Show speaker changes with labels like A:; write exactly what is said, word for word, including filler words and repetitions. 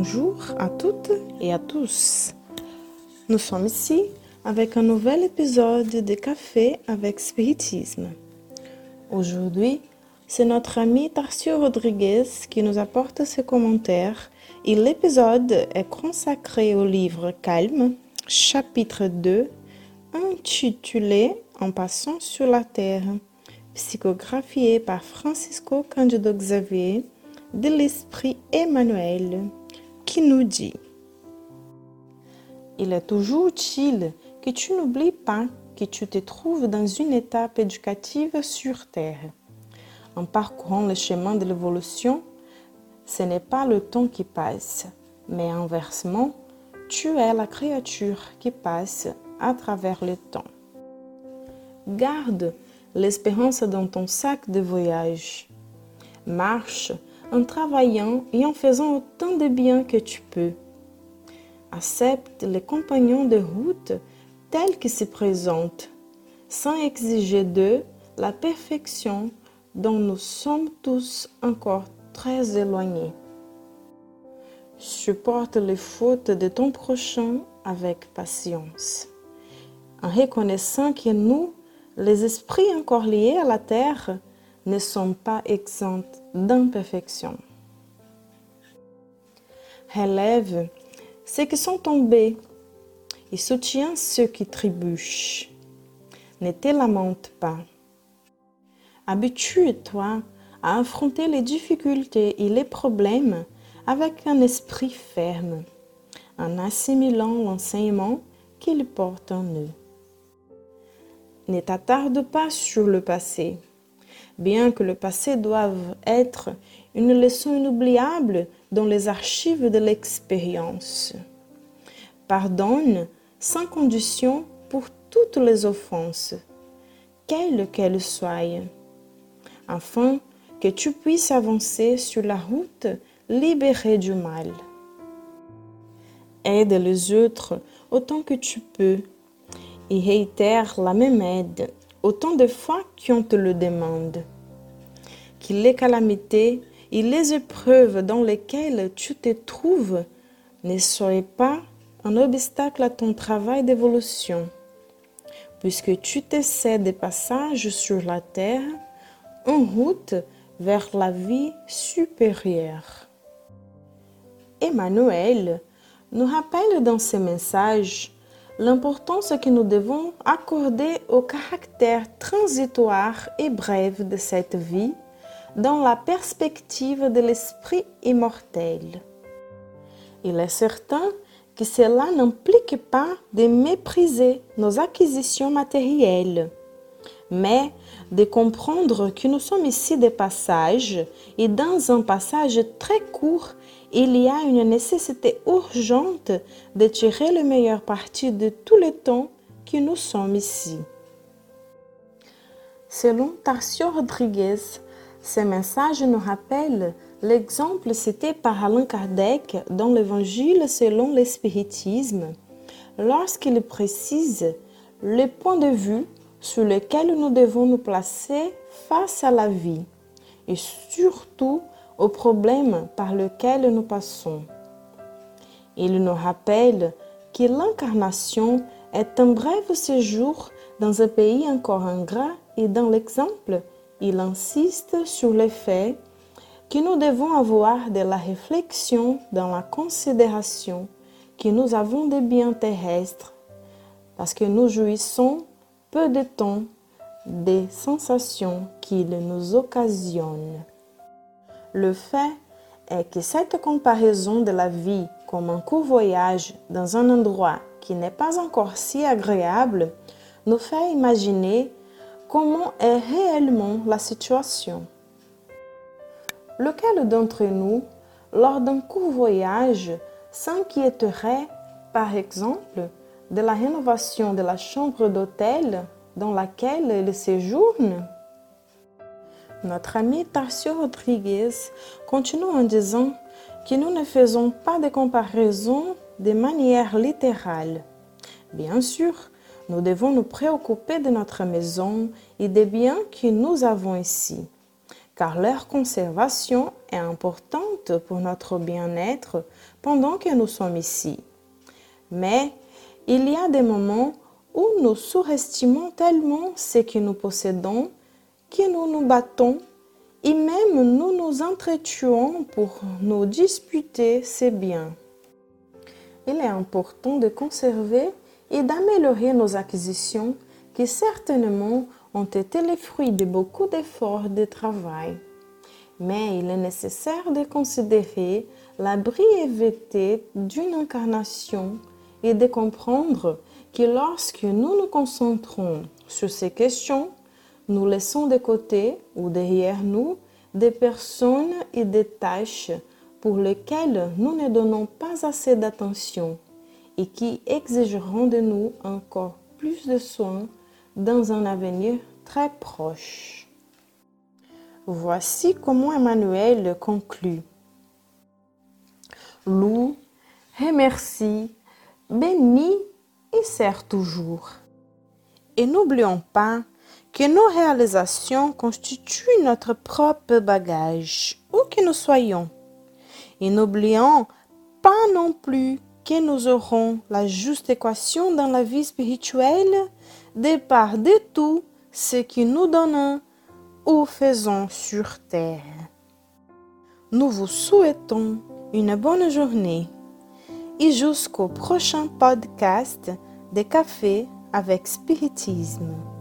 A: Bonjour à toutes et à tous. Nous sommes ici avec un nouvel épisode de Café avec Spiritisme. Aujourd'hui, c'est notre ami Tarcio Rodriguez qui nous apporte ses commentaires et l'épisode est consacré au livre Calme, chapitre deux, intitulé En passant sur la terre, psychographié par Francisco Cândido Xavier de l'Esprit Emmanuel, qui nous dit: il est toujours utile que tu n'oublies pas que tu te trouves dans une étape éducative sur Terre. En parcourant le chemin de l'évolution, ce n'est pas le temps qui passe, mais inversement, tu es la créature qui passe à travers le temps. Garde l'espérance dans ton sac de voyage. Marche en travaillant et en faisant autant de bien que tu peux. Accepte les compagnons de route tels qu'ils se présentent, sans exiger d'eux la perfection dont nous sommes tous encore très éloignés. Supporte les fautes de ton prochain avec patience, en reconnaissant que nous, les esprits encore liés à la terre, ne sont pas exempts d'imperfection. Relève ceux qui sont tombés et soutiens ceux qui trébuchent. Ne te lamente pas. Habitue-toi à affronter les difficultés et les problèmes avec un esprit ferme, en assimilant l'enseignement qu'ils portent en eux. Ne t'attarde pas sur le passé, bien que le passé doive être une leçon inoubliable dans les archives de l'expérience. Pardonne sans condition pour toutes les offenses, quelles qu'elles soient, afin que tu puisses avancer sur la route libérée du mal. Aide les autres autant que tu peux et réitère la même aide autant de fois qu'on te le demande. Que les calamités et les épreuves dans lesquelles tu te trouves ne soient pas un obstacle à ton travail d'évolution, puisque tu te sais des passages sur la terre en route vers la vie supérieure. Emmanuel nous rappelle dans ses messages l'importance que nous devons accorder au caractère transitoire et bref de cette vie dans la perspective de l'esprit immortel. Il est certain que cela n'implique pas de mépriser nos acquisitions matérielles, mais de comprendre que nous sommes ici des passages et dans un passage très court, il y a une nécessité urgente de tirer le meilleur parti de tout le temps que nous sommes ici. Selon Tarcio Rodriguez, ce message nous rappelle l'exemple cité par Allan Kardec dans l'Évangile selon le spiritisme, lorsqu'il précise le point de vue sur lequel nous devons nous placer face à la vie et surtout aux problèmes par lesquels nous passons. Il nous rappelle que l'incarnation est un bref séjour dans un pays encore ingrat et dans l'exemple, il insiste sur le fait que nous devons avoir de la réflexion dans la considération que nous avons des biens terrestres parce que nous jouissons peu de temps des sensations qu'ils nous occasionnent. Le fait est que cette comparaison de la vie comme un court voyage dans un endroit qui n'est pas encore si agréable nous fait imaginer comment est réellement la situation. Lequel d'entre nous, lors d'un court voyage, s'inquiéterait, par exemple, de la rénovation de la chambre d'hôtel dans laquelle il séjourne? Notre ami Tarcio Rodriguez continue en disant que nous ne faisons pas de comparaison de manière littérale. Bien sûr, nous devons nous préoccuper de notre maison et des biens que nous avons ici, car leur conservation est importante pour notre bien-être pendant que nous sommes ici. Mais il y a des moments où nous surestimons tellement ce que nous possédons que nous nous battons et même nous nous entretuons pour nous disputer ces biens. Il est important de conserver et d'améliorer nos acquisitions qui certainement ont été les fruits de beaucoup d'efforts et de travail. Mais il est nécessaire de considérer la brièveté d'une incarnation et de comprendre que lorsque nous nous concentrons sur ces questions, nous laissons de côté ou derrière nous des personnes et des tâches pour lesquelles nous ne donnons pas assez d'attention et qui exigeront de nous encore plus de soins dans un avenir très proche. Voici comment Emmanuel conclut. Loue, remercie, bénis et sert toujours. Et n'oublions pas que nos réalisations constituent notre propre bagage, où que nous soyons. Et n'oublions pas non plus que nous aurons la juste équation dans la vie spirituelle de part de tout ce que nous donnons ou faisons sur terre. Nous vous souhaitons une bonne journée et jusqu'au prochain podcast de Café avec Spiritisme.